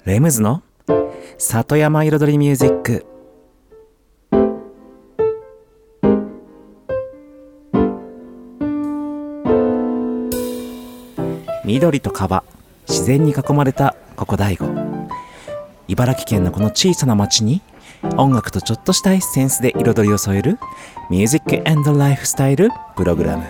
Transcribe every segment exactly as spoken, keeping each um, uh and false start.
レムズの里山彩りミュージック。緑と川、自然に囲まれたここ大子。茨城県のこの小さな町に音楽とちょっとしたエッセンスで彩りを添えるミュージック&ライフスタイルプログラム。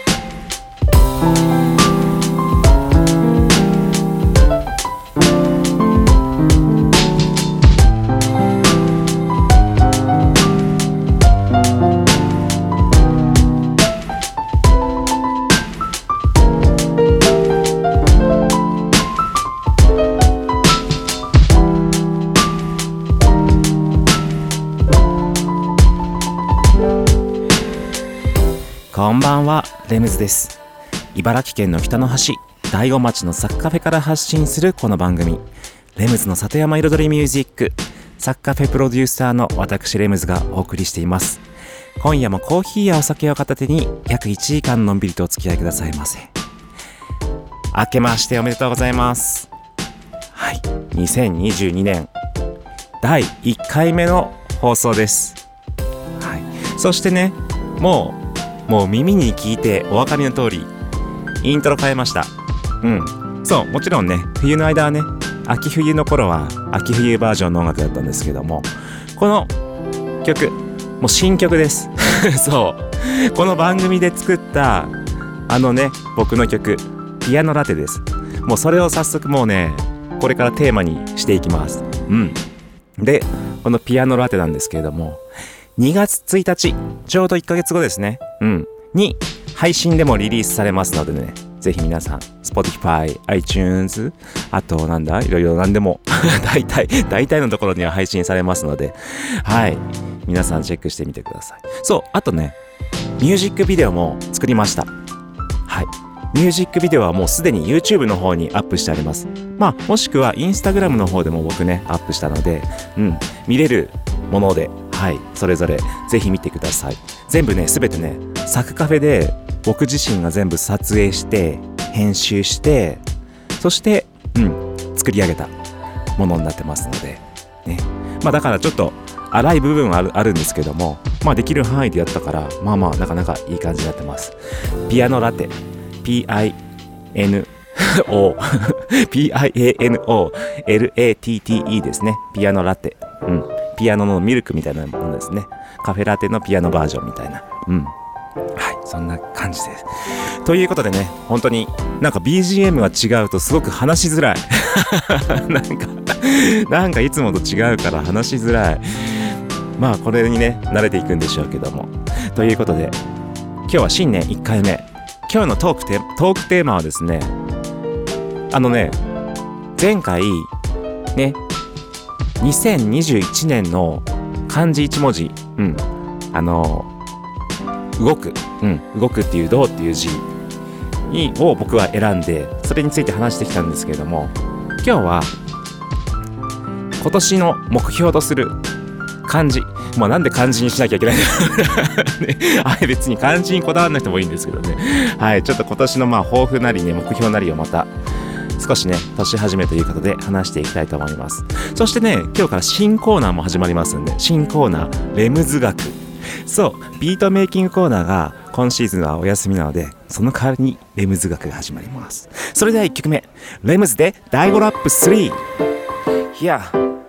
こんばんは、レムズです。茨城県の北の端、大子町のサッカフェから発信するこの番組、レムズの里山彩りミュージック。サッカフェプロデューサーの私レムズがお送りしています。今夜もコーヒーやお酒を片手に約いちじかんのんびりとお付き合いくださいませ。明けましておめでとうございます。はい、にせんにじゅうにねんだいいっかいめの放送です。はい、そしてね、もうもう耳に聞いてお分かりの通りイントロ変えました。うんそう、もちろんね、冬の間はね、秋冬の頃は秋冬バージョンの音楽だったんですけども、この曲もう新曲ですそうこの番組で作ったあのね、僕の曲ピアノラテです。もうそれを早速もうね、これからテーマにしていきます。うんで、このピアノラテなんですけれども、にがつついたち、ちょうどいっかげつごですね、うんに配信でもリリースされますのでね、ぜひ皆さん Spotify、iTunes、 あとなんだいろいろなんでも大体大体のところには配信されますので、はい、皆さんチェックしてみてください。そう、あとね、ミュージックビデオも作りました。はい、ミュージックビデオはもうすでに YouTube の方にアップしてあります。まあもしくは Instagram の方でも僕ねアップしたので、うん見れるもので、はい、それぞれぜひ見てください。全部ね、すべてね、サクカフェで僕自身が全部撮影して編集して、そしてうん作り上げたものになってますのでね。まあだからちょっと荒い部分はある、あるんですけども、まあできる範囲でやったから、まあまあなかなかいい感じになってます。ピアノラテ ピーアイエヌオー ピーアイエーエヌオーエルエーティーティーイー ですね。ピアノラテ、うんピアノのミルクみたいなものですね。カフェラテのピアノバージョンみたいな、うんはい、そんな感じです。ということでね、本当になんか ビージーエム が違うとすごく話しづらいなんかなんかいつもと違うから話しづらい。まあこれにね慣れていくんでしょうけども、ということで今日は新年いっかいめ。今日のトークテトークテーマはですね、あのね、前回ねにせんにじゅういちねんの漢字いち文字、うん、あの動く、うん、動くっていう動っていう字を僕は選んで、それについて話してきたんですけれども、今日は今年の目標とする漢字、まあなんで漢字にしなきゃいけないんだね、あれ別に漢字にこだわらなくてもいいんですけどね。はい、ちょっと今年のまあ抱負なりね、目標なりをまた少しね、年始めということで話していきたいと思います。そしてね、今日から新コーナーも始まりますんで、新コーナー、レムズ学。そう、ビートメイキングコーナーが今シーズンはお休みなので、その代わりにレムズ学が始まります。それではいっきょくめ、レムズでだいごラップスリー。Yeah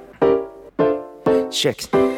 Check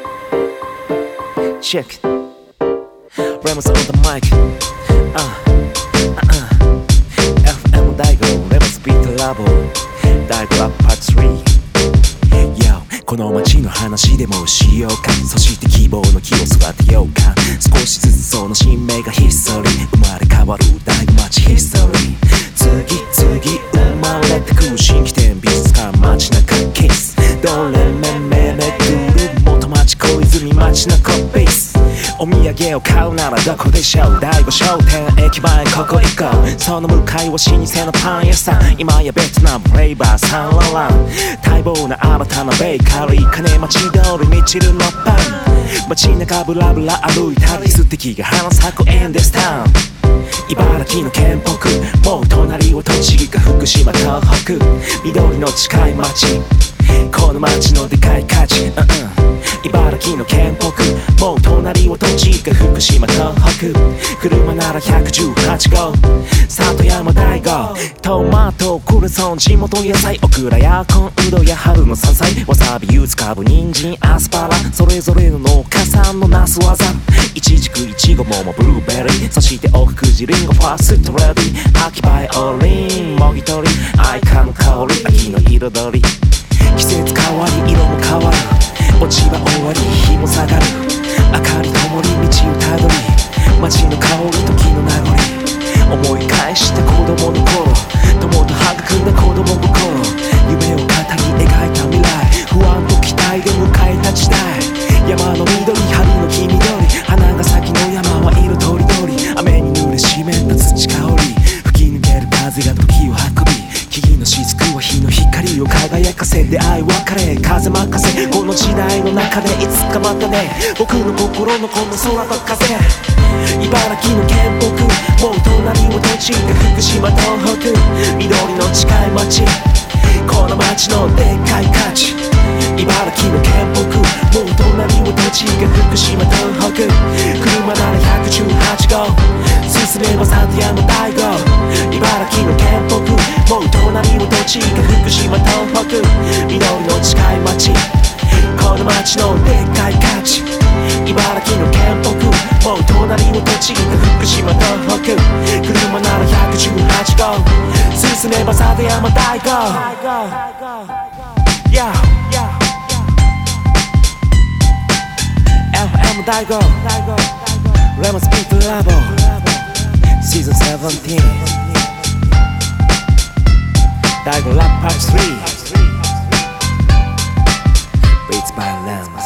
Check Remus on the mic uh, uh, uh. エフエム 大悟 Remus Beat Labo だいごラップパートスリー。 Yo この街の話でもしようか、そして希望の木を育てようか。少しずつその新芽がヒストリー、生まれ変わる大悟町ヒストリー。次々生まれてく新規店、美術館、街中キス、どれめめめぐる元町小泉街中ベース。お土産を買うならどこでしょう、大悟商店駅前ここ行こう。その向かいは老舗のパン屋さん、今やベトナムフレーバーサンロラン。待望な新たなベーカリー、金町通りみちるのパン。街中ブラブラ歩いたり、素敵が花咲くエンデスタウン。茨城の県北、もう隣は栃木か福島東北。緑の近い町この街のでかい価値、うんうん、茨城の県北、もう隣は栃木福島東北、車ならひゃくじゅうはちごう里山大号、トマトクルソン地元野菜、オクラやコンウドや春の山菜、わさび柚子かぶ人参アスパラ、それぞれの農家さんのなす技、イチジクイチゴ桃ブルーベリー、そして奥久慈リンゴファーストレディ、秋バイオリンもぎ取り愛花の香り、秋の彩り、季節変わり色も変わる、落ち葉終わり日も下がる、明かり灯り道をたどり、街の香り時の名残、思い返して子供の頃、友と育んだ子供心、夢を語り描いた未来、不安と期待で迎えた時代、山の緑春の黄緑、花が咲きの山は色とりどり、雨に濡れ湿った土香り、吹き抜ける風が時を運び、木々の雫は日の光を輝かせ、出会い別れ風任せ、この時代の中でいつかまたね、僕の心のこの空と風、茨城の県北、もう隣は栃木福島東北、緑の近い町、この町のでっかい価値、茨城の県北、もう隣は栃木福島東北、車ならひゃくじゅうはちごう進めば里山大号、茨城の県北、もう隣は栃木福島東北、緑の近い町、この町のでっかい価値、茨城の県北、もう隣は栃木福島東北、車ならひゃくじゅうはちごう進めば里山大号、yeah, yeah,エフエム 大号、レモンスピートラボシーズンセブンティーン、大号ラップパートスリー Beats by Lems。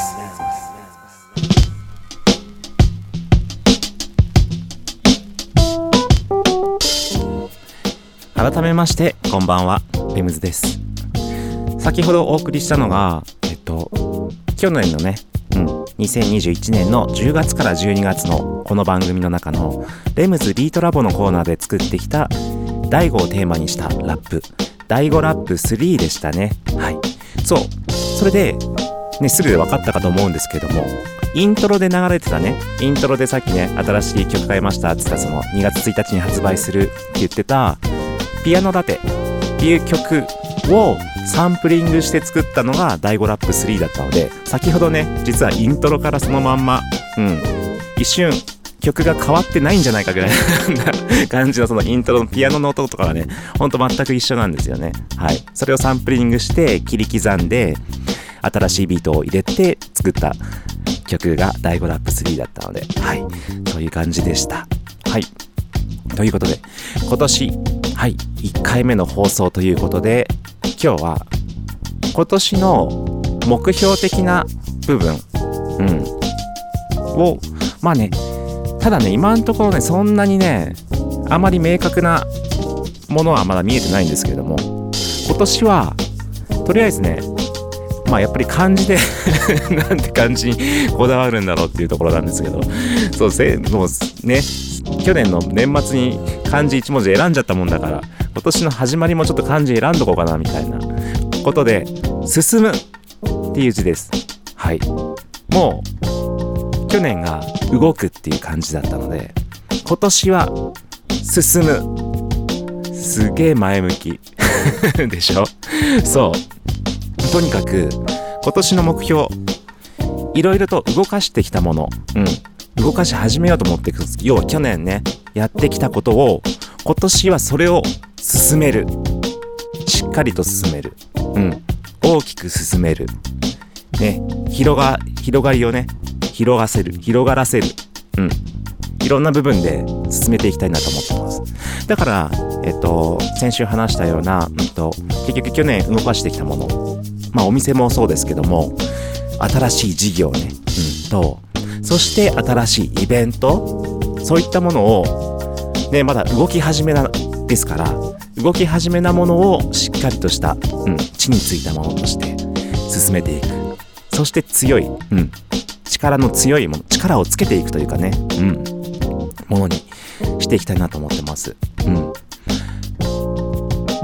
改めましてこんばんは、レムズです。先ほどお送りしたのがえっと去年のね、うん、にせんにじゅういちねんのじゅうがつからじゅうにがつのこの番組の中のレムズビートラボのコーナーで作ってきた大悟をテーマにしたラップ、大悟ラップスリーでしたね。はい、そう、それでね、すぐ分かったかと思うんですけども、イントロで流れてたね、イントロでさっきね、新しい曲変えましたって言ったそのにがつついたちに発売するって言ってたピアノラテっていう曲をサンプリングして作ったのが大悟ラップスリーだったので、先ほどね、実はイントロからそのまんま、うん、一瞬曲が変わってないんじゃないかぐらいな感じのそのイントロのピアノの音とかはね、ほんと全く一緒なんですよね。はい、それをサンプリングして切り刻んで新しいビートを入れて作った曲が大悟ラップスリーだったので、はい、という感じでした。はい、ということで今年、はい、いっかいめの放送ということで、今日は今年の目標的な部分、うん、をまあね、ただね、今のところね、そんなにね、あまり明確なものはまだ見えてないんですけれども、今年はとりあえずね、まあやっぱり漢字でなんて漢字にこだわるんだろうっていうところなんですけど、そうせもうね、去年の年末に漢字いち文字選んじゃったもんだから、今年の始まりもちょっと漢字選んどこうかなみたいなことで、進むっていう字です。はい、もう去年が動くっていう感じだったので、今年は進む、すげえ前向きでしょ。そうとにかく今年の目標、いろいろと動かしてきたもの、うん、動かし始めようと思っていく。要は去年ね、やってきたことを今年はそれを進める、しっかりと進める、うん、大きく進めるね、広が広がりをね、広がせる、広がらせる、うん、いろんな部分で進めていきたいなと思ってます。だからえっと先週話したような、うんと、結局去年動かしてきたもの、まあお店もそうですけども、新しい事業ね、うん、と、そして新しいイベント、そういったものをね、まだ動き始めなですから、動き始めなものをしっかりとした、うん、地についたものとして進めていく。そして強い、うん、力の強いもの、力をつけていくというかね、うん、ものにしていきたいなと思ってます。うん。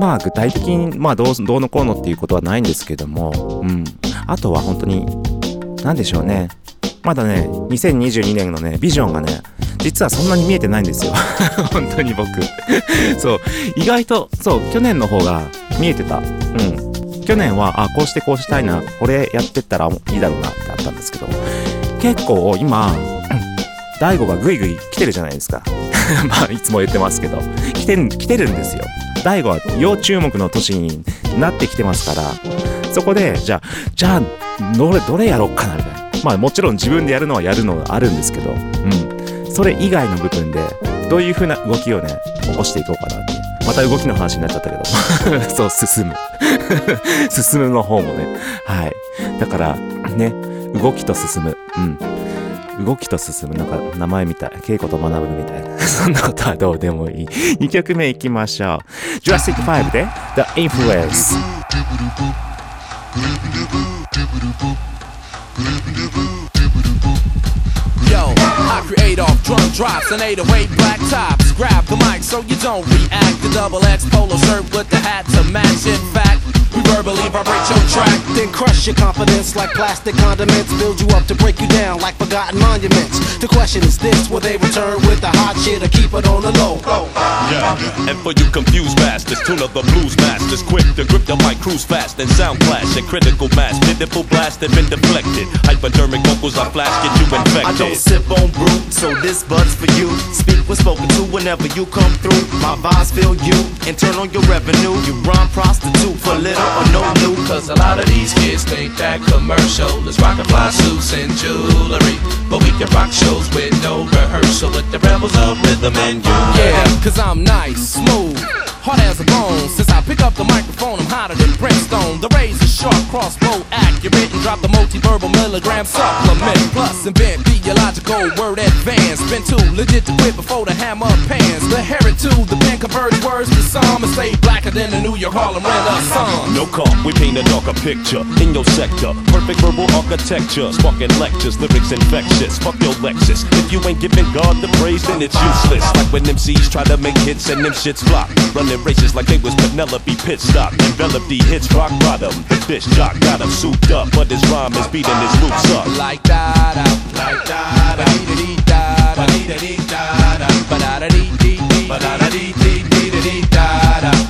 まあ具体的にまあどうどうのこうのっていうことはないんですけども、うん、あとは本当に何でしょうね、まだねにせんにじゅうにねんのねビジョンがね実はそんなに見えてないんですよ本当に僕そう意外とそう去年の方が見えてた。うん、去年はあこうしてこうしたいな、これやってったらいいだろうなってあったんですけど、結構今大悟がグイグイ来てるじゃないですかまあいつも言ってますけど来てる来てるんですよ。大悟は要注目の年になってきてますから、そこでじゃあじゃあどれどれやろうかなみたいな、まあもちろん自分でやるのはやるのがあるんですけど、うん、それ以外の部分でどういう風な動きをね起こしていこうかなって、また動きの話になっちゃったけどそう進む進むの方もね、はい、だからね動きと進む、うん、動きと進む、なんか名前みたい、稽古と学ぶみたいなそんなことはどうでもいい。にきょくめいきましょう。ジュラシックファイブで The Influence。 Yo, I create off drum drops and eight oh eight black tops. Grab the mic so you don't react. The double X polo shirt with the hat to match. In fact, we verbally vibrate your track, then crush your confidence like plastic condiments. Build you up to break you down like forgotten monuments. The question is this: will they return with the hot shit or keep it on the low? Yeah, and for you confused bastards, tune up the blues masters, quick to grip the mic, cruise fast and sound clash and critical mass, pitiful blast have been deflected. Hypodermic vocals I flash, get you infected. I don't sip on brew, so this bud's for you. Speak when spoken to whenever you come through. My vibes fill you and turn on your revenue. You rhyme prostitute for little or no new. Cause a lot of these kids think that commercial is rockin' fly suits and jewelry, but we can rock shows with no rehearsal with the rebels of rhythm and you. Yeah, cause I'm nice, smooth, hard as a bone. Since I pick up the microphone, I'm hotter than brimstone. The razor sharp, crossbow accurate, and drop the multi-verbal milligram supplement. Plus invent theological word advance. Been too legit to quit before the hammer pans. The heron to the pen converts words to psalm and stay blacker than the New York Harlem Renaissance. No call, we paint a darker picture in your sector. Perfect verbal architecture, sparking lectures, lyrics infectious. Fuck your Lexus. If you ain't giving God the praise, then it's useless. Like when M Cs try to make hits and them shits flop. Running races like they was Penelope Pitstop. Envelop the hits rock bottom. The fish jock got him souped up, but his rhyme is beating his loops up. Like da da, like da da, dee dee da da, dee dee da da, ba da da dee dee dee, ba da da dee dee dee dee da da.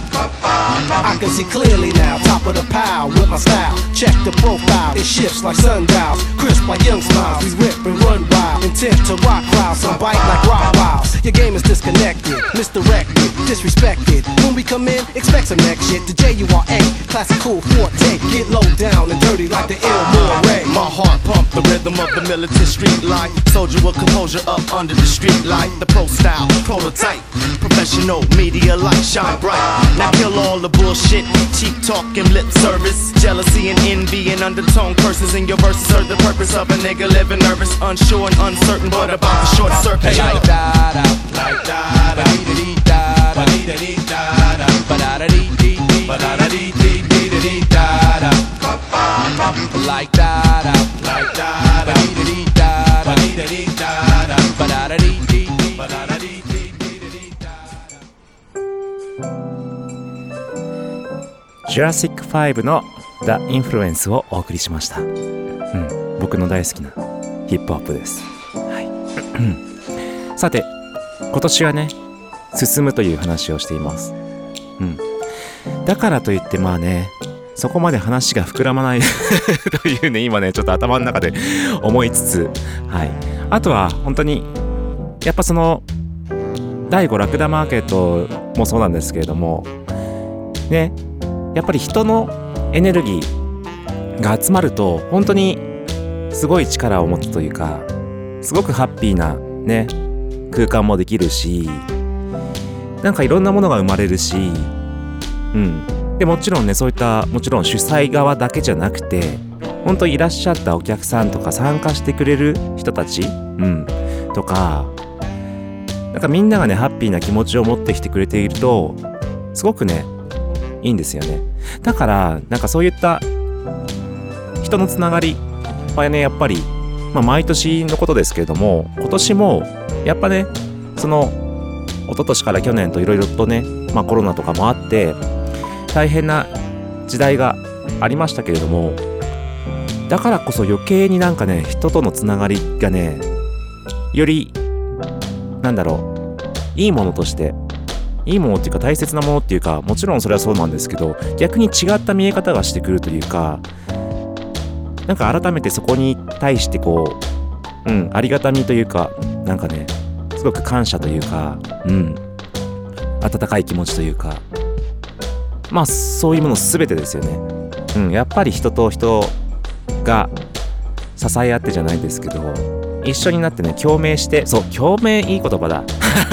I can see clearly now, top of the pile with my style. Check the profile, it shifts like sundials, crisp like young smiles. We rip and run wild, intent to rock crowds, some bite like rock wiles. Your game is disconnected, misdirected, disrespected. When we come in, expect some next shit. The J U R A, classical forte, get low down and dirty like the ill Moray. My heart pump the rhythm of the militant street life. Soldier with composure up under the street light. The pro style, prototype, professional media light shine bright. Now kill all the bullshit, cheap talk and lip service, jealousy and envy and undertone curses in your verses. Serve the purpose of a nigga living nervous, unsure and uncertain, but about the short circuit. Hey, like da da, like da da, dee dee da da, dee dee da da, ba da da dee dee dee, ba da da dee dee dee dee da da. Like da da, like da da, dee dee da da, dee dee da da, ba da da dee dee dee, ba da da dee dee dee da da. ジュラシックファイブの The Influence をお送りしました。うん、僕の大好きなヒップホップです。はい。さて、今年はね、進むという話をしています。うん。だからといってまあね、そこまで話が膨らまないというね、今ね、ちょっと頭の中で思いつつ、はい。あとは本当に、やっぱその、だいごラクダマーケットもそうなんですけれども、ね、やっぱり人のエネルギーが集まると本当にすごい力を持つというか、すごくハッピーなね空間もできるし、なんかいろんなものが生まれるし、うんでもちろんね、そういったもちろん主催側だけじゃなくて、本当いらっしゃったお客さんとか参加してくれる人たち、うんとか、なんかみんながねハッピーな気持ちを持ってきてくれているとすごくねいいんですよね。だからなんかそういった人のつながりはね、やっぱり、まあ、毎年のことですけれども、今年もやっぱね、その一昨年から去年といろいろとね、まあ、コロナとかもあって大変な時代がありましたけれども、だからこそ余計になんかね、人とのつながりがね、よりなんだろう、いいものとして、いいものっていうか大切なものっていうか、もちろんそれはそうなんですけど、逆に違った見え方がしてくるというか、なんか改めてそこに対してこう、うん、ありがたみというか、なんかね、すごく感謝というか、うん、温かい気持ちというか、まあそういうもの全てですよね。うん、やっぱり人と人が支え合ってじゃないですけど、一緒になってね、共鳴して、そう、共鳴いい言葉だ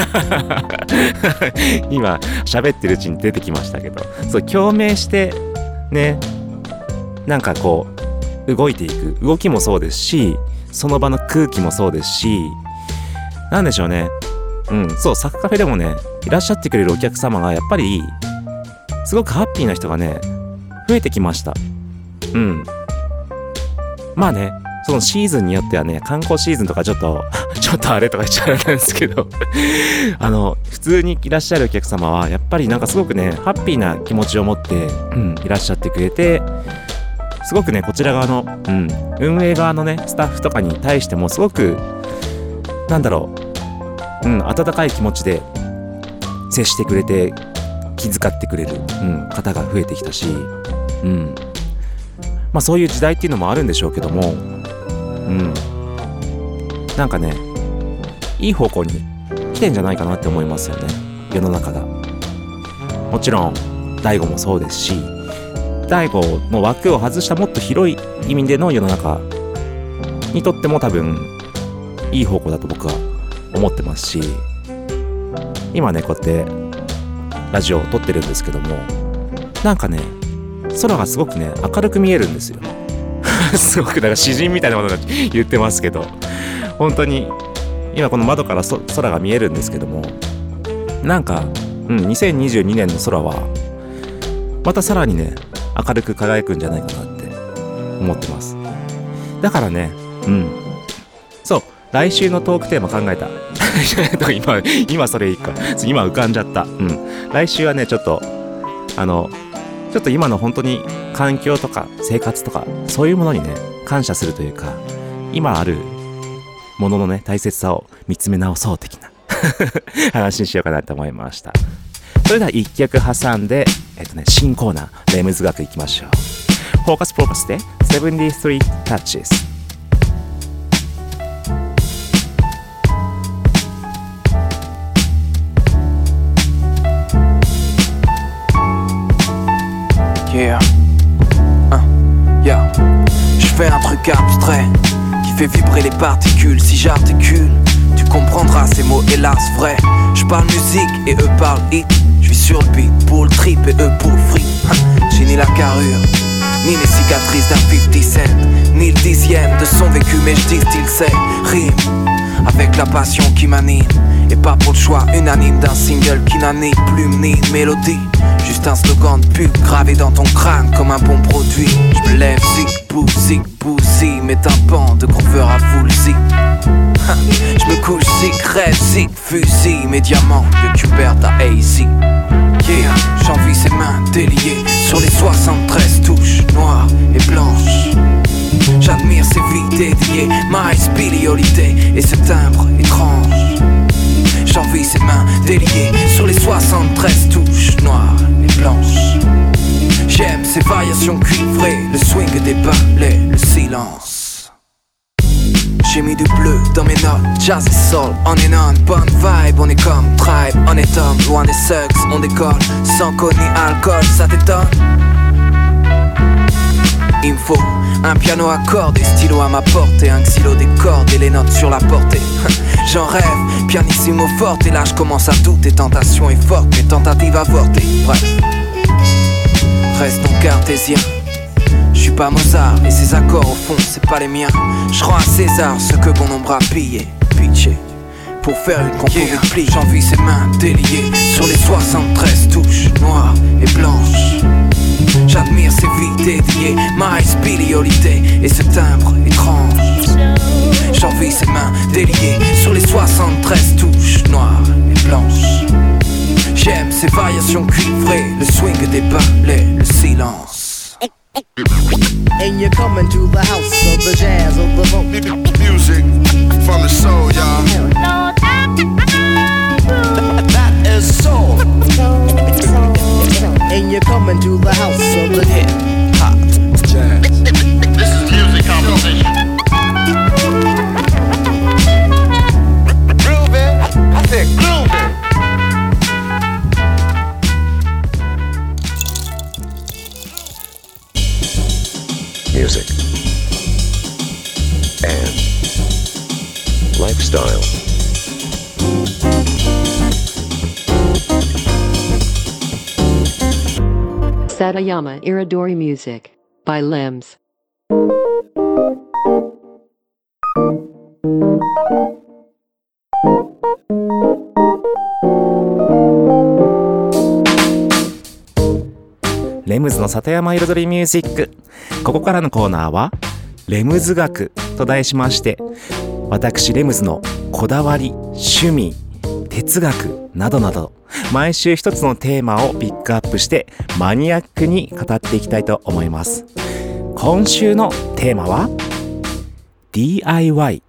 今喋ってるうちに出てきましたけど、そう、共鳴してね、なんかこう動いていく動きもそうですし、その場の空気もそうですし、なんでしょうね、うん、そう、サクカフェでもね、いらっしゃってくれるお客様がやっぱりすごくハッピーな人がね、増えてきました。うん、まあね、そのシーズンによってはね、観光シーズンとかちょっとちょっとあれとか言っちゃうんですけどあの普通にいらっしゃるお客様はやっぱりなんかすごくね、ハッピーな気持ちを持って、うん、いらっしゃってくれて、すごくね、こちら側の、うん、運営側のね、スタッフとかに対してもすごくなんだろう、うん、温かい気持ちで接してくれて、気遣ってくれる、うん、方が増えてきたし、うん、まあそういう時代っていうのもあるんでしょうけども、うん、なんかね、いい方向に来てんじゃないかなって思いますよね、世の中が。もちろん大悟もそうですし、大悟の枠を外したもっと広い意味での世の中にとっても多分いい方向だと僕は思ってますし、今ね、こうやってラジオを撮ってるんですけども、なんかね、空がすごくね、明るく見えるんですよすごくなんか詩人みたいなこと言ってますけど、本当に今この窓からそ空が見えるんですけども、なんか、うん、にせんにじゅうにねんの空はまたさらにね、明るく輝くんじゃないかなって思ってます。だからね、うん、そう、来週のトークテーマ考えた今今それいいか、今浮かんじゃった。うん、来週はね、ちょっとあのちょっと今の本当に環境とか生活とかそういうものにね、感謝するというか、今あるもののね、大切さを見つめ直そう的な話にしようかなと思いました。それでは一曲挟んで、えっとね、新コーナーレムズ学いきましょう。フォーカスフォーカスでセブンティースリー Touches。 Yeah, uh, yeah. Je fais un truc abstrait qui fait vibrer les particules. Si j'articule, tu comprendras ces mots hélas vrais. Je parle musique et eux parlent hit. Je suis sur le beat pour le trip et eux pour le free. J'ai ni la carrure, ni les cicatrices d'un cinquante cent, ni le dixième de son vécu, mais je distille ses rimes avec la passion qui m'anime. Et pas pour le choix unanime d'un single qui n'a ni plume ni mélodie. Juste un slogan de pub gravé dans ton crâne comme un bon produit. Je me lève, zig, bou, zig, bou, zi, mes tympans de grooveur à full zi. Je me couche, zig, rêve, zig, fusil, mes diamants de Cubert à A Z. Yeah, j'envie ses mains déliées sur les soixante-treize touches noires et blanches. J'admire ses vies dédiées, ma spéliolité et ce timbre étrange. J'envie ses mains déliées sur les soixante-treize touches noires et blanches. J'aime ses variations cuivrées, le swing des balais, le silence. J'ai mis du bleu dans mes notes, jazz et soul, on est non, bonne vibe, on est comme tribe, on est homme, loin des sucks, on décolle, sans code ni alcool, ça t'étonne? Il me faut un piano à cordes et stylo à ma portée, un xylo des cordes et les notes sur la portée. J'en rêve, pianissimo forte, et là je commence à douter, tentation est forte, mes tentatives avortées. Bref, restons cartésiens. Je suis pas Mozart et ces accords au fond c'est pas les miens. Je rends à César ce que bon nombre a pillé, pitché. Pour faire une compo yeah. Repli, j'envie ses mains déliées sur les soixante-treize touches noires et blanches. J'admire ses vies dédiées, ma spéliolité et ce timbre étrange. J'envie ses mains déliées sur les soixante-treize touches noires et blanches. J'aime ces variations cuivrées, le swing des balais, le silence. And you're coming to the house of the jazz of the funk music from the soul, y'all. That is soul. And you're coming to the house of the hip hop jazz. This is music composition. Groovy, I said groovy. Music and lifestyle. Satayama Iridori Music by Limbs. レムズの里山彩りミュージック。ここからのコーナーはレムズ学と題しまして、私レムズのこだわり、趣味、哲学などなど毎週一つのテーマをピックアップしてマニアックに語っていきたいと思います。今週のテーマは ディーアイワイ。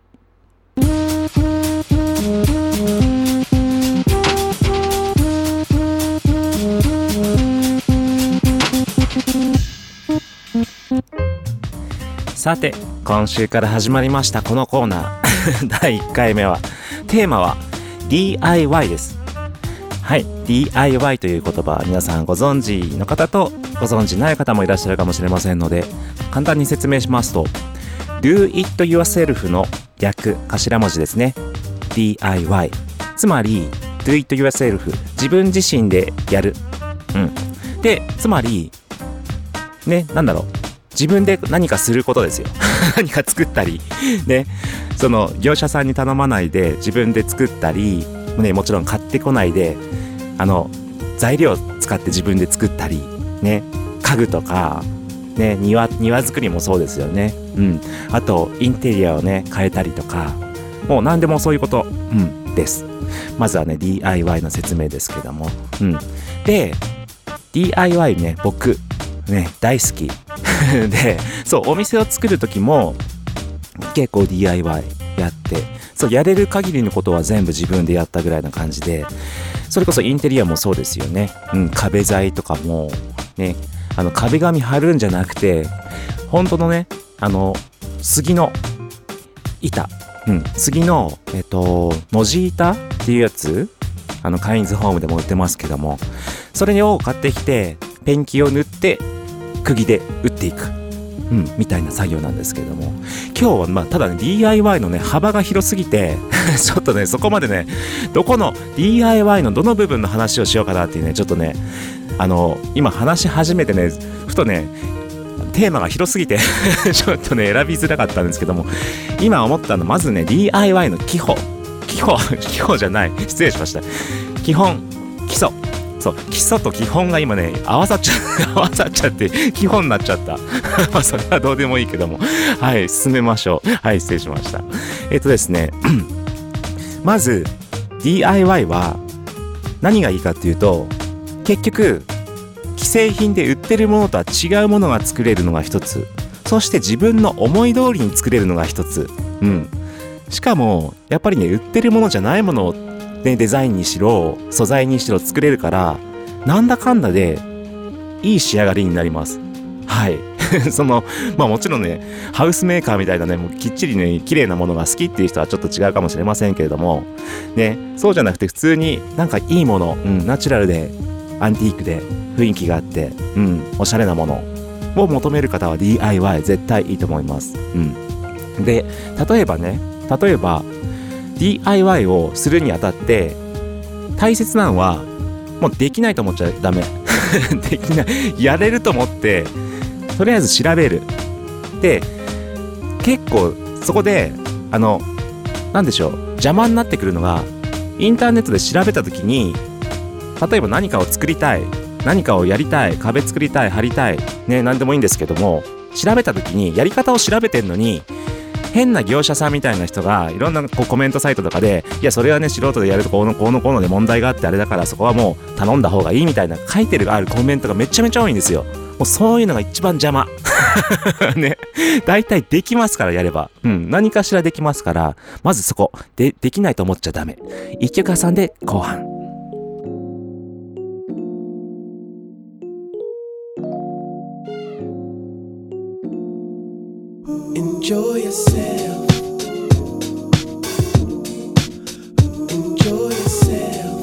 さて今週から始まりましたこのコーナーだいいっかいめはテーマは ディーアイワイ です。はい、 ディーアイワイ という言葉は皆さんご存知の方とご存知ない方もいらっしゃるかもしれませんので、簡単に説明しますと Do It Yourself の略頭文字ですね。 ディーアイワイ つまり Do It Yourself 自分自身でやる、うん、でつまりね、なんだろう、自分で何かすることですよ何か作ったりね、その業者さんに頼まないで自分で作ったり、ね、もちろん買ってこないであの材料を使って自分で作ったりね、家具とかね、庭庭作りもそうですよね。うん、あとインテリアをね変えたりとか、もう何でもそういうこと、うん、です。まずはね ディーアイワイ の説明ですけども、うん、で ディーアイワイ ね、僕ね大好きで、そうお店を作る時も結構 ディーアイワイ やって、そうやれる限りのことは全部自分でやったぐらいな感じで、それこそインテリアもそうですよね。うん、壁材とかもね、あの壁紙貼るんじゃなくて本当のね、あの杉の板、うん、杉のえっと文字板っていうやつ、あのカインズホームでも売ってますけども、それを買ってきてペンキを塗って釘で打っていく、うん、みたいな作業なんですけれども、今日はまあただね ディーアイワイ のね幅が広すぎてちょっとねそこまでねどこの ディーアイワイ のどの部分の話をしようかなっていうね、ちょっとねあの今話し始めてねふとねテーマが広すぎてちょっとね選びづらかったんですけども、今思ったのまずね ディーアイワイ の基礎基礎基礎じゃない失礼しました基本基礎、そう基礎と基本が今ね合わさっちゃ合わさっちゃって基本になっちゃったまあそれはどうでもいいけども、はい進めましょう。はい失礼しました。えっとですねまず ディーアイワイ は何がいいかっていうと、結局既製品で売ってるものとは違うものが作れるのが一つ、そして自分の思い通りに作れるのが一つ、うん、しかもやっぱりね売ってるものじゃないものをね、デザインにしろ素材にしろ作れるから、なんだかんだでいい仕上がりになります。はいそのまあもちろんねハウスメーカーみたいなねもうきっちりね綺麗なものが好きっていう人はちょっと違うかもしれませんけれどもね、そうじゃなくて普通になんかいいもの、うん、ナチュラルでアンティークで雰囲気があって、うん、おしゃれなものを求める方は ディーアイワイ 絶対いいと思います。うん、で例えばね例えばディーアイワイ をするにあたって大切なのはもうできないと思っちゃダメできない、やれると思ってとりあえず調べる。で結構そこであのなんでしょう邪魔になってくるのが、インターネットで調べた時に例えば何かを作りたい、何かをやりたい、壁作りたい、貼りたいね、何でもいいんですけども、調べた時にやり方を調べてんのに変な業者さんみたいな人がいろんなこうコメントサイトとかで、いやそれはね素人でやるとこうのこうのこうので問題があってあれだから、そこはもう頼んだ方がいいみたいな書いてるあるコメントがめちゃめちゃ多いんですよ。もうそういうのが一番邪魔ね、大体できますからやれば、うん、何かしらできますから、まずそこでできないと思っちゃダメ。一曲挟んで後半。 Enjoy yourself. Enjoy yourself.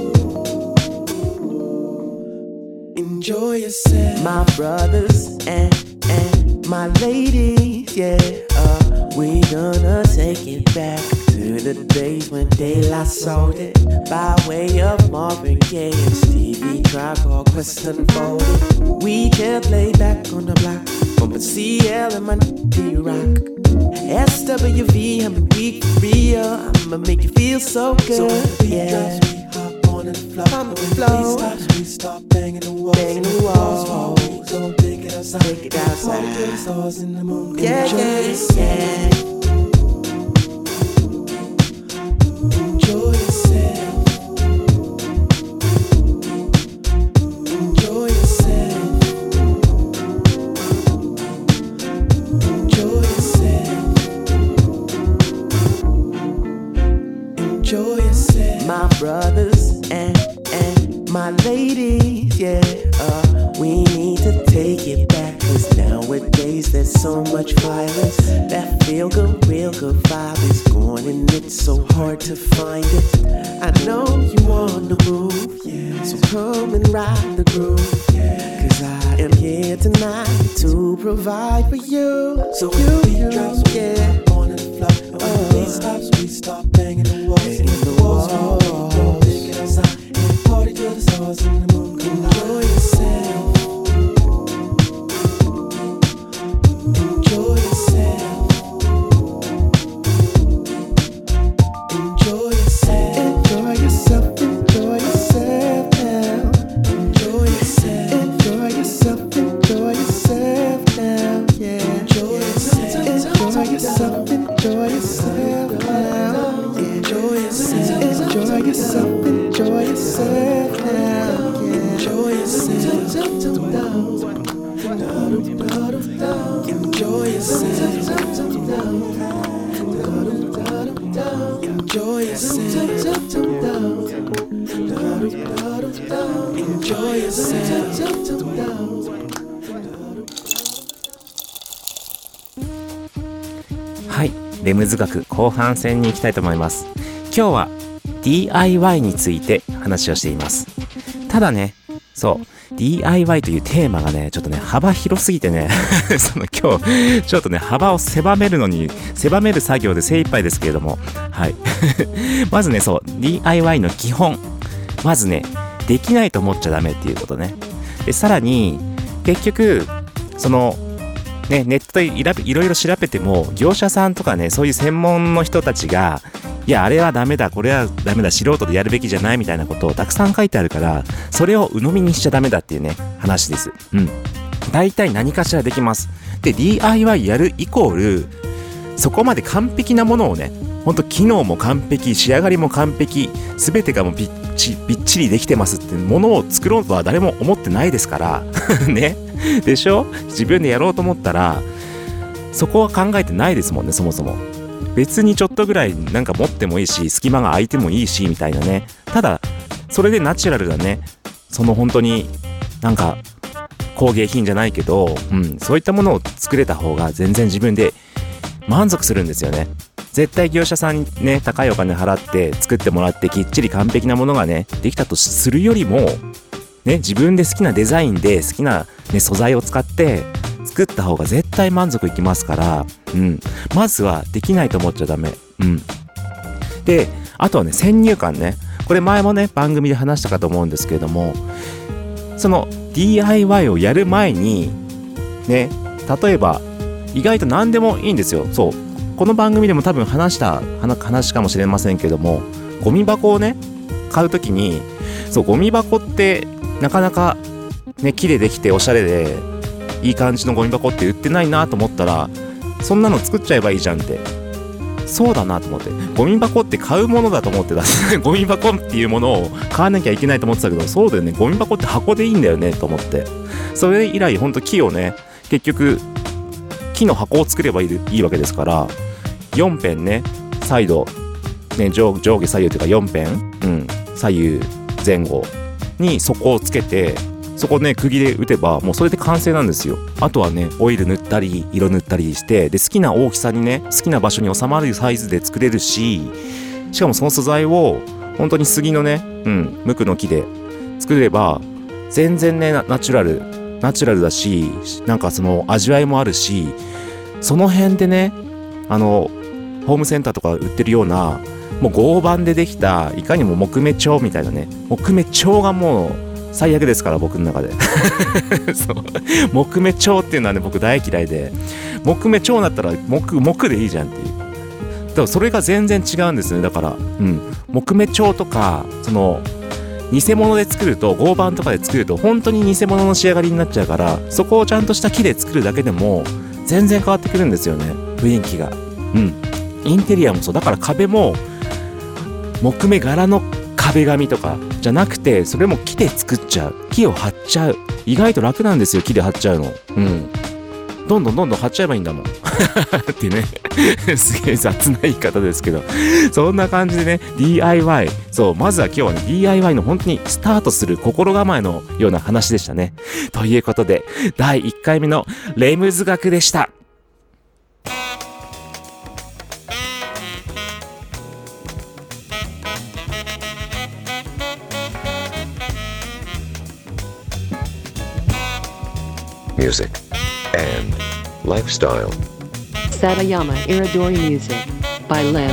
Enjoy yourself. My brothers and and my ladies, yeah. Uh, we gonna take it back to the days when De La Soul it by way of Marvin Gaye and Stevie Tribe Called Quest Unfolded. We just lay back on the block. Bumpin' C L and my D-Rock. S W V, I'm weak for real. I'ma make you feel so good. So when the beat yeah. drops, we hop on the floor. On the when floor. the beat stops, we start banging the walls. Banging the walls. We gon' take it outside. Take it outside. Party to the stars in the moon. Yeah, Enjoy yeah, yourself. yeah. Enjoy yourself. Enjoy yourself. Enjoy yourself. Enjoy yourself. My brothers and and my ladies, yeah. Uh, we need to take it back, 'cause nowadays there's so much violence. That feel good, real good vibe is gone, and it's so hard to find it. I know you on the move, yeah. So come and ride the groove, yeah. 'Cause I am here tonight to provide for you. So when the beat you, drops, we yeah. hop on the floor. And when the beat stops, we start banging the walls. Banging the walls. walls. We gon' take it outside and party till the stars in the moon. Enjoy yourself. Enjoy yourself. Enjoy yourself. Enjoy yourself, enjoy yourself now. Enjoy yourself. Enjoy yourself, enjoy yourself now, yeah. Enjoy yourself. Enjoy yourself, enjoy yourself now. Enjoy yourself. Enjoy yourself, enjoy yourself now, yeah. Enjoy yourself. Enjoy yourself. Enjoy yourself. Enjoy yourself. はい、レムズ学後半戦に行きたいと思います。今日は ディーアイワイ について話をしています。ただね、そう ディーアイワイ というテーマがねちょっとね幅広すぎてねその今日ちょっとね幅を狭めるのに狭める作業で精一杯ですけれども、はいまずね、そう ディーアイワイ の基本、まずねできないと思っちゃダメっていうことね。でさらに結局そのね、ネットでいろいろ調べても業者さんとかね、そういう専門の人たちがいやあれはダメだ、これはダメだ、素人でやるべきじゃないみたいなことをたくさん書いてあるから、それを鵜呑みにしちゃダメだっていうね話です。うん。大体何かしらできます。で ディーアイワイ やるイコールそこまで完璧なものをね、ほんと機能も完璧、仕上がりも完璧、全てがもうびっちびっちりできてますっていうものを作ろうとは誰も思ってないですからね。でしょ？自分でやろうと思ったらそこは考えてないですもんね。そもそも別にちょっとぐらいなんか持ってもいいし、隙間が空いてもいいしみたいなね。ただそれでナチュラルだね、その本当になんか工芸品じゃないけど、うん、そういったものを作れた方が全然自分で満足するんですよね。絶対業者さんにね高いお金払って作ってもらってきっちり完璧なものがねできたとするよりもね、自分で好きなデザインで好きな、ね、素材を使って作った方が絶対満足いきますから、うん、まずはできないと思っちゃダメ。うん。で、あとはね、先入観ね。これ前もね、番組で話したかと思うんですけれども、その ディーアイワイ をやる前に、ね、例えば、意外と何でもいいんですよ。そう。この番組でも多分話した話かもしれませんけども、ゴミ箱をね、買うときに、そう、ゴミ箱って、なかなかね、木でできておしゃれでいい感じのゴミ箱って売ってないなと思ったら、 そんなの作っちゃえばいいじゃんって、そうだなと思って、ゴミ箱って買うものだと思ってたゴミ箱っていうものを買わなきゃいけないと思ってたけど、そうだよね、ゴミ箱って箱でいいんだよねと思って、それ以来ほんと木をね、結局木の箱を作ればいい、いいわけですから、よん辺ね、サイド、ね、上, 上下左右というかよん辺、うん、左右前後に底をつけて、そこね釘で打てばもうそれで完成なんですよ。あとはねオイル塗ったり色塗ったりして、で好きな大きさにね、好きな場所に収まるサイズで作れるし、しかもその素材を本当に杉のね、うん、無垢の木で作れば全然ね、ナチュラルナチュラルだし、なんかその味わいもあるし、その辺でね、あのホームセンターとか売ってるようなもう合板でできた、いかにも木目調みたいなね、木目調がもう最悪ですから、僕の中でそう木目調っていうのはね、僕大嫌いで、木目調だったら木木でいいじゃんっていう、だからそれが全然違うんですね。だから、うん、木目調とかその偽物で作ると、合板とかで作ると本当に偽物の仕上がりになっちゃうから、そこをちゃんとした木で作るだけでも全然変わってくるんですよね、雰囲気が。うん、インテリアもそうだから、壁も木目柄の壁紙とかじゃなくて、それも木で作っちゃう、木を貼っちゃう、意外と楽なんですよ、木で貼っちゃうの。うん、どんどんどんどん貼っちゃえばいいんだもんってねすげえ雑な言い方ですけど、そんな感じでね ディーアイワイ、 そう、まずは今日はね ディーアイワイ の本当にスタートする心構えのような話でしたね。ということでだいいっかいめのレムズ学でした。 Music and lifestyle. Satayama Iridori Music by Limbs.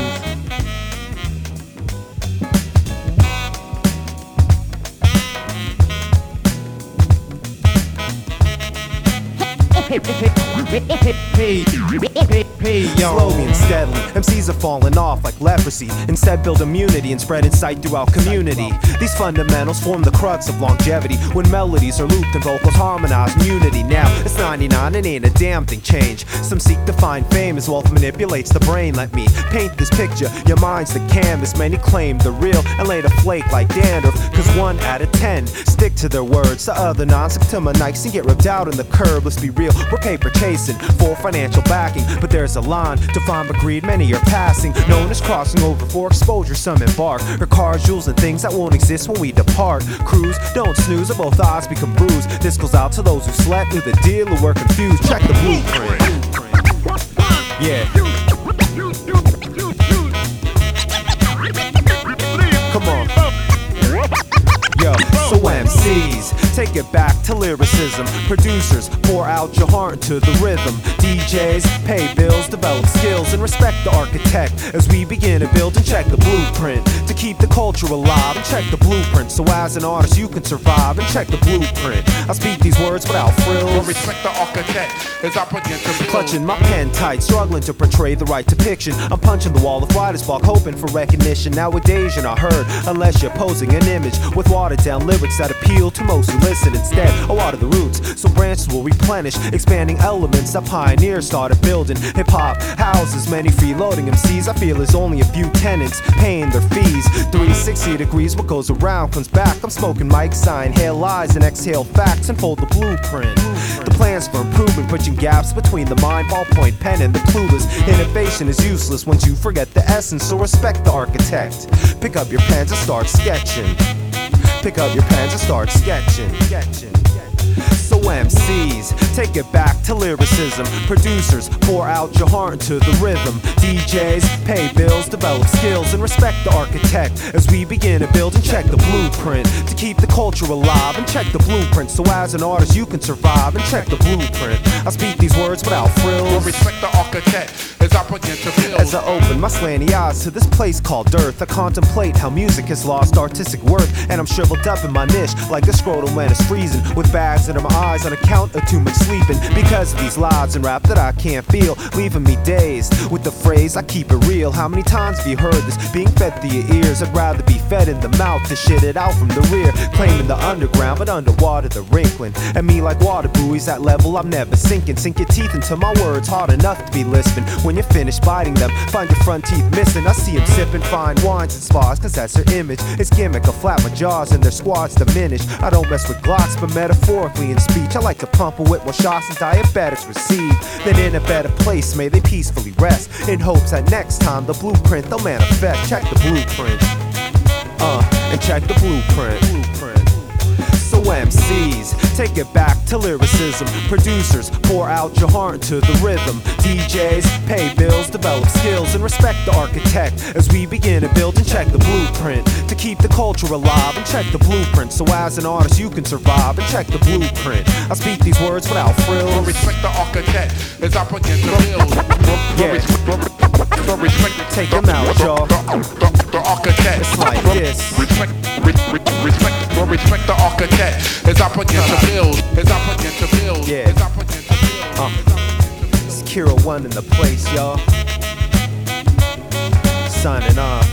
Hey, hey, hey, yo. Slowly and steadily, M Cs are falling off like leprosy. Instead, build immunity and spread insight throughout community. These fundamentals form the crux of longevity. When melodies are looped and vocals harmonize in unity. Now, it's ninety-nine and ain't a damn thing changed. Some seek to find fame as wealth manipulates the brain. Let me paint this picture. Your mind's the canvas. Many claim the real and later flake like dandruff. Cause one out of ten stick to their words. The other nine stick to my nikes and get ripped out in the curb. Let's be real, we're paper chasing for financial backing, but there's a line to find but greed many are passing, known as crossing over for exposure. Some embark or cars, jewels and things that won't exist when we depart. Cruise, don't snooze or both eyes become bruised. This goes out to those who slept through the deal or were confused. Check the blueprint. Yeah. Come on. Yo, so M Cs, take it back to lyricism. Producers, pour out your heart into the rhythm. D Js, pay bills, develop skills, and respect the architect as we begin to build and check the blueprint to keep the culture alive. And check the blueprint so as an artist you can survive. And check the blueprint. I speak these words without frills. Well, respect the architect as I begin to clutching my pen tight, struggling to portray the right depiction. I'm punching the wall of writer's block, hoping for recognition. Nowadays you're not heard unless you're posing an image with watered down lyrics that appeal to most who listen. Instead, I water the roots so branches will replenish, expanding elements that pioneers started building. Hip-hop houses many freeloading M Cs. I feel there's only a few tenants paying their fees. three sixty degrees, what goes around comes back. I'm smoking mics, I inhale lies and exhale facts and fold the blueprint. The plans for improvement, bridging gaps between the mind, ballpoint pen, and the clueless. Innovation is useless once you forget the essence, so respect the architect. Pick up your pens and start sketching. Pick up your pens and start sketching. sketching. So M Cs, take it back to lyricism. Producers, pour out your heart into the rhythm. D Js, pay bills, develop skills, and respect the architect as we begin to build and check the blueprint to keep the culture alive. And check the blueprint so as an artist you can survive. And check the blueprint. I speak these words without frills. Well, respect the architect as I begin to build. As I open my slanty eyes to this place called Earth, I contemplate how music has lost artistic worth. And I'm shriveled up in my niche like a scrotum when it's freezing, with bags under my eyes on account of too much sleeping. Because of these lives in rap that I can't feel, leaving me dazed with the phrase I keep it real. How many times have you heard this being fed through your ears? I'd rather be fed in the mouth than shit it out from the rear. Claiming the underground but underwater the wrinkling. And me like water buoys at level I'm never sinking. Sink your teeth into my words hard enough to be listening. When you're finished biting them, find your front teeth missing. I see them sipping fine wines and spas, cause that's their image. It's gimmick, I'll flap my jaws and their squads diminish. I don't mess with glocks but metaphorically in speech. I like to pump a whip while shots and diabetics receive. Then in a better place may they peacefully rest, in hopes that next time the blueprint they'll manifest. Check the blueprint, uh, and check the blueprint, blueprint. So M Cs, take it back to lyricism. Producers, pour out your heart into the rhythm. D Js, pay bills, develop skills, and respect the architect as we begin to build and check the blueprint. To keep the culture alive and check the blueprint, so as an artist you can survive and check the blueprint. I speak these words without frills. Respect the architect as I begin to build. Yeah. Take them out, y'all. The architect. It's like this. Respect, respect, respect, respect the architect as I begin to build. As I begin to build. Yeah. As I begin to build. Uh. It's Kira One in the place, y'all. Signing off.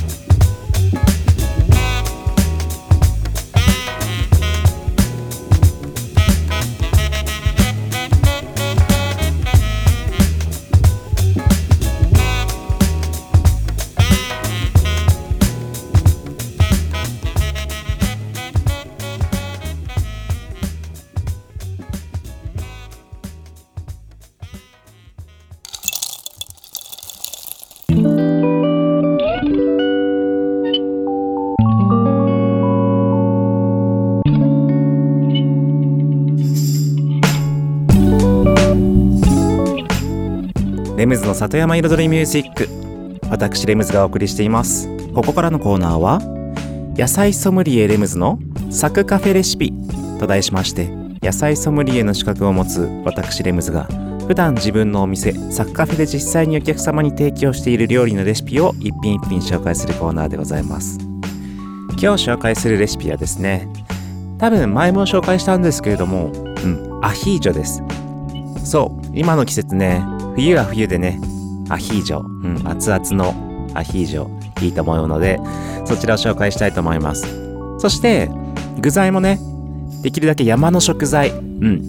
レムズの里山彩りミュージック、私レムズがお送りしています。ここからのコーナーは野菜ソムリエレムズのサクカフェレシピと題しまして、野菜ソムリエの資格を持つ私レムズが普段自分のお店サクカフェで実際にお客様に提供している料理のレシピを一品一品紹介するコーナーでございます。今日紹介するレシピはですね、多分前も紹介したんですけれども、うん、アヒージョです。そう、今の季節ね、冬は冬でね、アヒージョ、うん、熱々のアヒージョいいと思うので、そちらを紹介したいと思います。そして具材もね、できるだけ山の食材、うん、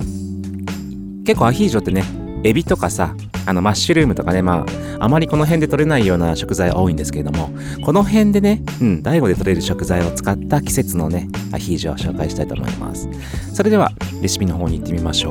結構アヒージョってね、エビとかさ、あのマッシュルームとかね、まああまりこの辺で取れないような食材多いんですけれども、この辺でね、うん、大悟で取れる食材を使った季節のね、アヒージョを紹介したいと思います。それではレシピの方に行ってみましょう。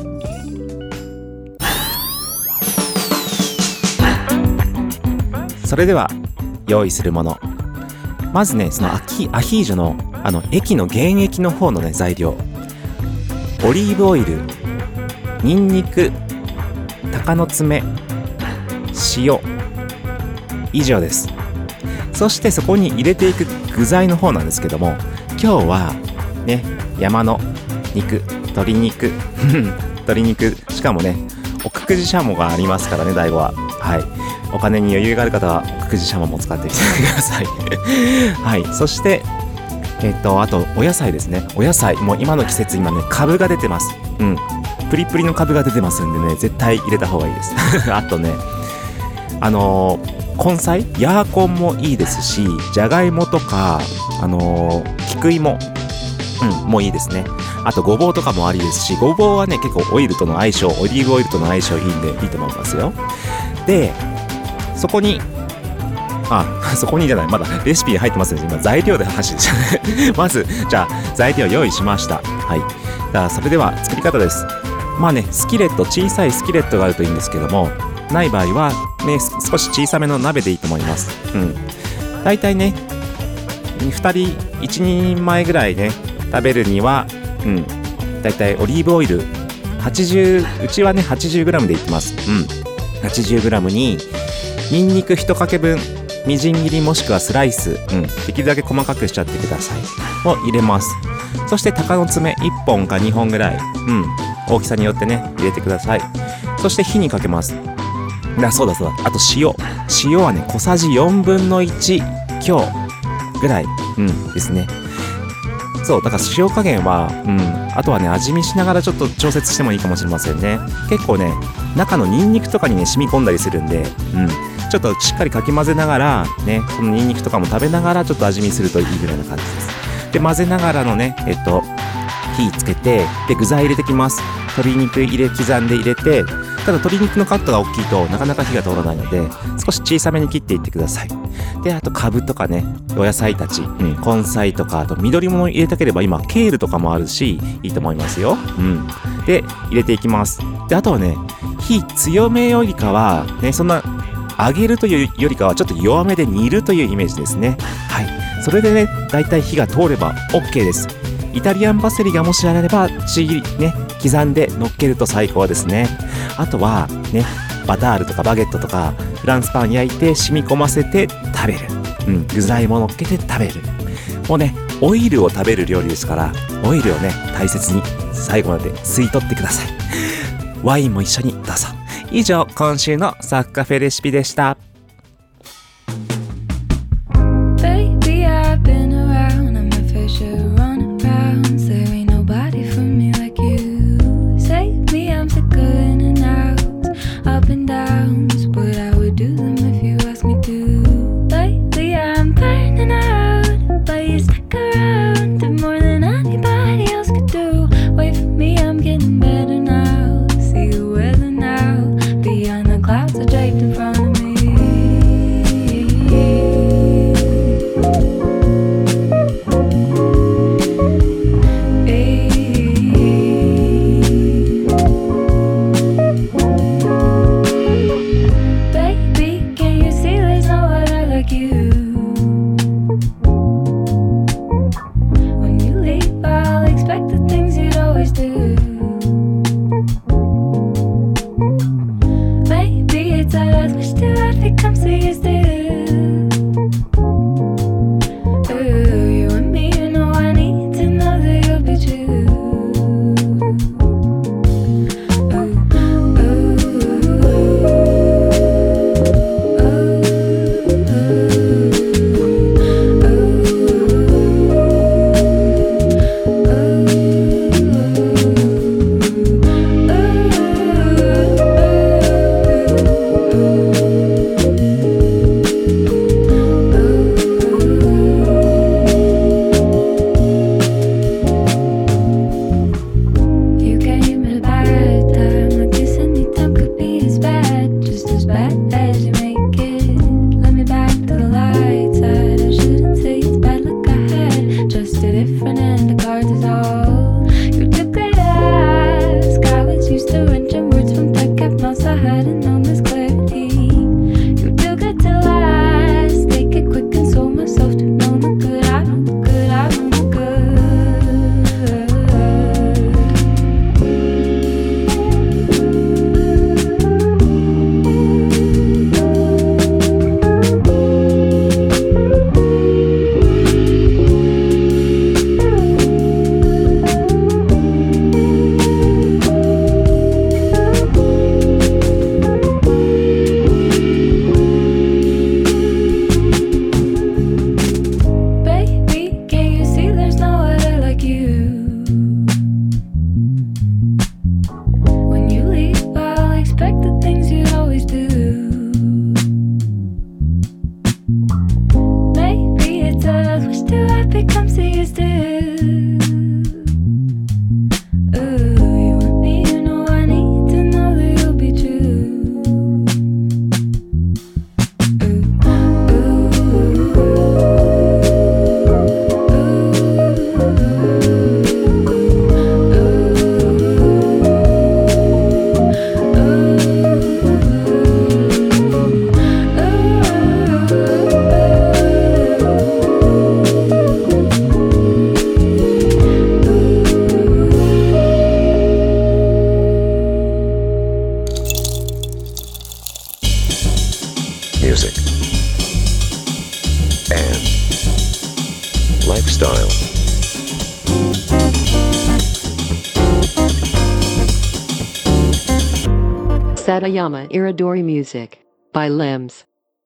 それでは用意するもの、まずね、そのアヒ、アヒージョのあの液の原液の方のね材料、オリーブオイル、ニンニク、鷹の爪、塩、以上です。そしてそこに入れていく具材の方なんですけども、今日はね、山の肉、鶏肉鶏肉、しかもね、奥久慈しゃもがありますからね、大悟は。はい、お金に余裕がある方は奥久慈しゃもも使ってみてくださいはい、そしてえっとあとお野菜ですね。お野菜、もう今の季節、今ね、カブが出てます。うん、プリプリのカブが出てますんでね、絶対入れた方がいいですあとね、あのー、根菜、ヤーコンもいいですし、じゃがいもとか、あのー、菊芋、うん、もういいですね。あとごぼうとかもありですし、ごぼうはね、結構オイルとの相性、オリーブオイルとの相性いいんでいいと思いますよ。で、そこにあ、そこにじゃない、まだレシピに入ってますね。今材料で話でしたねまずじゃあ材料用意しました。はい、じゃあそれでは作り方です。まあね、スキレット、小さいスキレットがあるといいんですけども、ない場合はね、少し小さめの鍋でいいと思います。うん、だいたいね、ふたりいちにんまえぐらいね食べるには、うん、だいたいオリーブオイルはちじゅう、うちはね はちじゅうグラム でいってます。うん、はちじゅうグラム にニンニクいちかけぶん、みじん切りもしくはスライス、うん、できるだけ細かくしちゃってくださいを入れます。そして鷹の爪いっぽんかにほんぐらい、うん、大きさによってね入れてください。そして火にかけます。 だそうだそうだ、あと塩塩はね小さじよんぶんのいち強ぐらい、うんですね。そうだから塩加減は、うん、あとはね味見しながらちょっと調節してもいいかもしれませんね。結構ね中のニンニクとかにね染み込んだりするんで、うん、ちょっとしっかりかき混ぜながらね、このニンニクとかも食べながらちょっと味見するといいぐらいな感じです。で混ぜながらのねえっと火つけて、で具材入れてきます。鶏肉入れ刻んで入れて、ただ鶏肉のカットが大きいとなかなか火が通らないので少し小さめに切っていってください。であとカブとかねお野菜たち、うん、根菜とかあと緑物入れたければ今ケールとかもあるしいいと思いますよ、うん、で入れていきます。であとはね火強めよりかはねそんな揚げるというよりかはちょっと弱めで煮るというイメージですね。はい、それでねだいたい火が通れば OK です。イタリアンパセリがもしあればちぎりね刻んで乗っけると最高ですね。あとはねバタールとかバゲットとかフランスパン焼いて染み込ませて食べる、うん、具材も乗っけて食べる。もうねオイルを食べる料理ですからオイルをね大切に最後まで吸い取ってください。ワインも一緒にどうぞ。以上今週のサッカフェレシピでした。 Satayama Iridori Music by Limbs.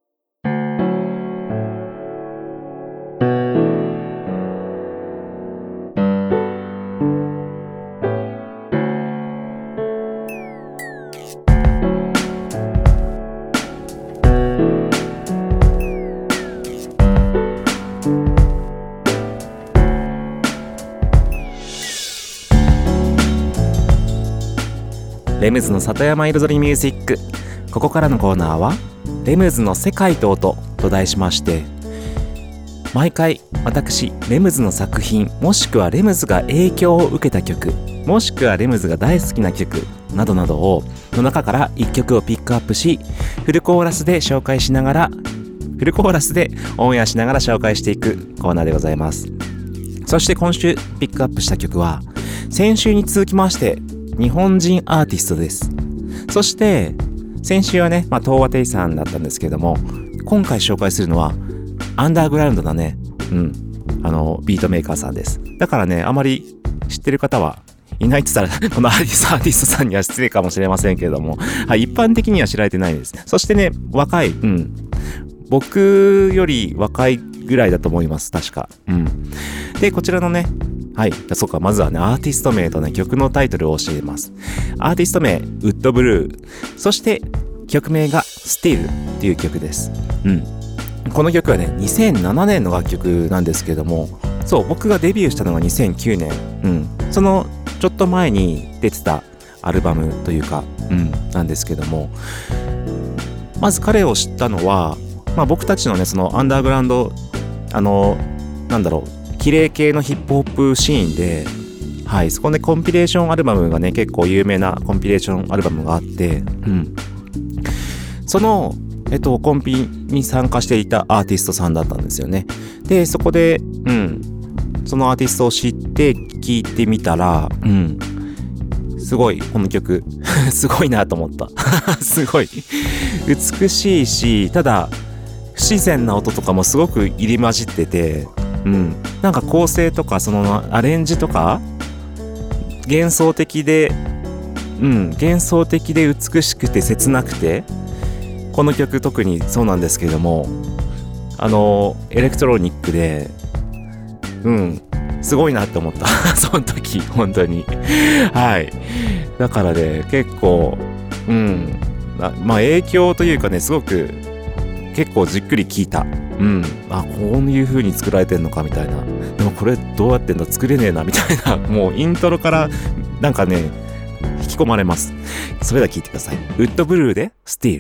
レムズの里山彩りミュージック。ここからのコーナーはレムズの世界と音と題しまして、毎回私レムズの作品もしくはレムズが影響を受けた曲もしくはレムズが大好きな曲などなどをの中からいっきょくをピックアップし、フルコーラスで紹介しながらフルコーラスでオンエアしながら紹介していくコーナーでございます。そして今週ピックアップした曲は先週に続きまして日本人アーティストです。そして先週はね、まあ、東和亭さんだったんですけども、今回紹介するのはアンダーグラウンドなね、うん、あのビートメーカーさんです。だからね、あまり知ってる方はいないって言ったらこのアーティストアーティストさんには失礼かもしれませんけれども、はい、一般的には知られてないです。そしてね、若い、うん、僕より若いぐらいだと思います、確か。うん。で、こちらのね、はい。そうか、まずはね、アーティスト名とね、曲のタイトルを教えます。アーティスト名、ウッドブルー。そして、曲名が Still っていう曲です。うん。この曲はね、にせんななねんの楽曲なんですけども、そう、僕がデビューしたのがにせんきゅうねん。うん。その、ちょっと前に出てたアルバムというか、うん、なんですけども、まず彼を知ったのは、まあ僕たちのね、そのアンダーグラウンド、あの、なんだろう、綺麗系のヒップホップシーンで、はい、そこでコンピレーションアルバムがね、結構有名なコンピレーションアルバムがあって、うん。その、えっと、コンピに参加していたアーティストさんだったんですよね。で、そこで、うん、そのアーティストを知って聴いてみたら、うん、すごい、この曲、すごいなと思った。すごい。美しいし、ただ、不自然な音とかもすごく入り混じってて、うん、なんか構成とかそのアレンジとか幻想的で、うん、幻想的で美しくて切なくて、この曲特にそうなんですけども、あのエレクトロニックで、うんすごいなって思ったその時本当にはい。だからね、結構うんまあ影響というかね、すごく結構じっくり聴いた。うん、あ、こういう風に作られてんのかみたいな。でもこれどうやってんだ、作れねえなみたいな。もうイントロからなんかね、引き込まれます。それでは聴いてください。ウッドブルーで Still。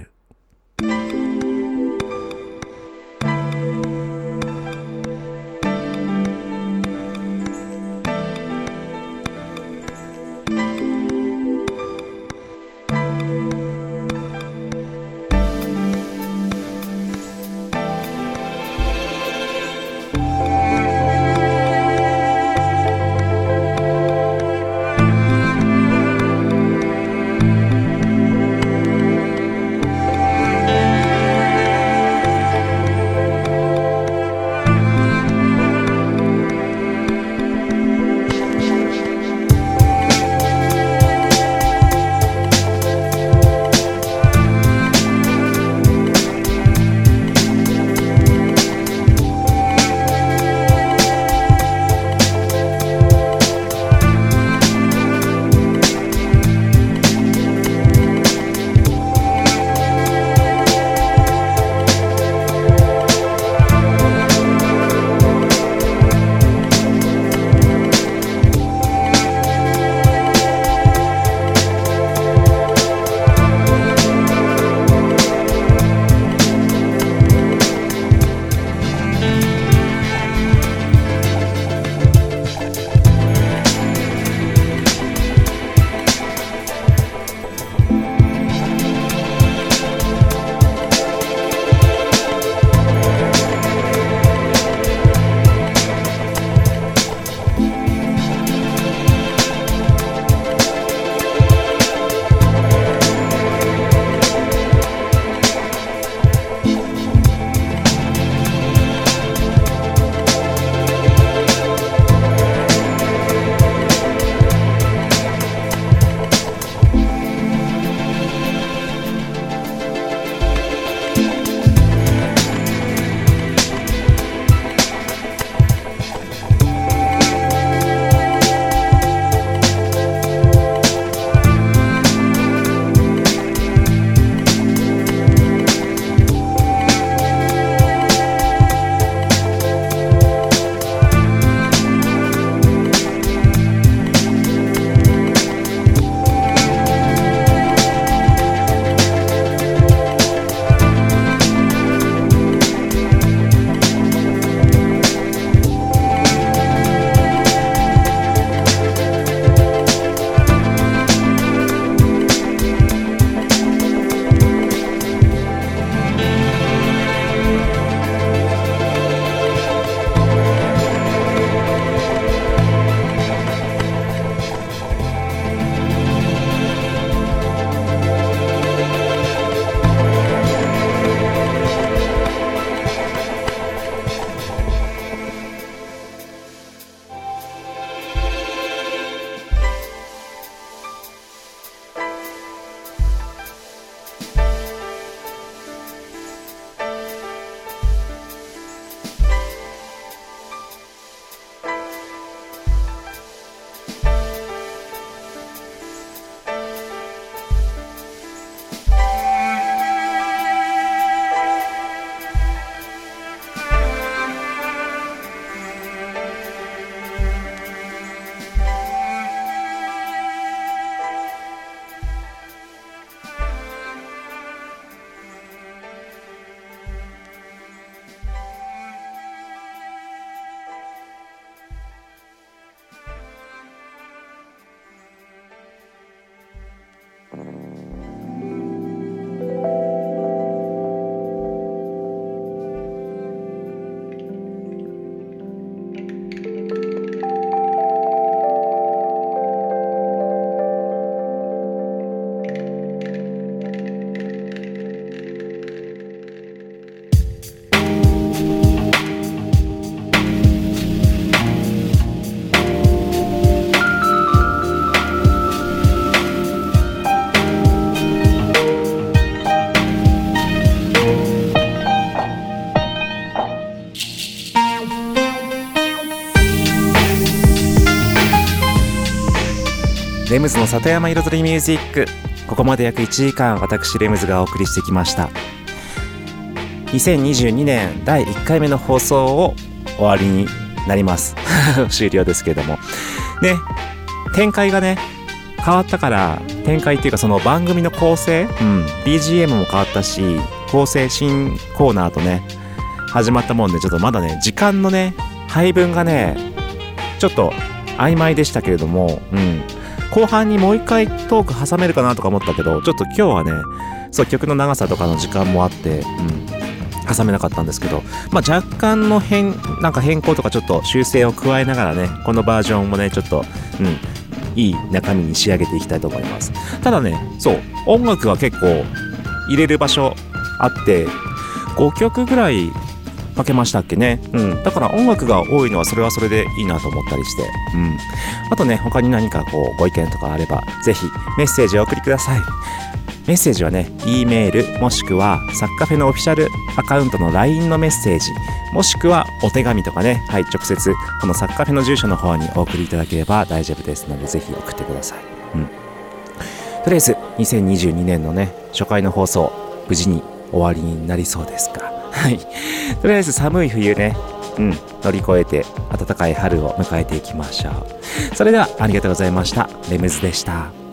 ムズの里山彩りミュージック、ここまで約いちじかん私レムズがお送りしてきました。にせんにじゅうにねんだいいっかいめの放送を終わりになります終了ですけれどもね、展開がね変わったから、展開っていうかその番組の構成、うん、ビージーエム も変わったし、構成新コーナーとね始まったもんで、ちょっとまだね時間のね配分がねちょっと曖昧でしたけれども、うん、後半にもう一回トーク挟めるかなとか思ったけど、ちょっと今日はねそう曲の長さとかの時間もあって、うん、挟めなかったんですけど、まあ、若干の変なんか変更とかちょっと修正を加えながらね、このバージョンもねちょっと、うん、いい中身に仕上げていきたいと思います。ただね、そう音楽は結構入れる場所あってごきょくぐらいかけましたっけね、うん、だから音楽が多いのはそれはそれでいいなと思ったりして、うん、あとね他に何かこうご意見とかあればぜひメッセージをお送りください。メッセージはね E メールもしくはサッカフェのオフィシャルアカウントの ライン のメッセージ、もしくはお手紙とかね、はい、直接このサッカフェの住所の方にお送りいただければ大丈夫ですので、ぜひ送ってください。うん、とりあえずにせんにじゅうにねんのね初回の放送無事に終わりになりそうですか。はい、とりあえず寒い冬ね、うん、乗り越えて暖かい春を迎えていきましょう。それではありがとうございました。レムズでした。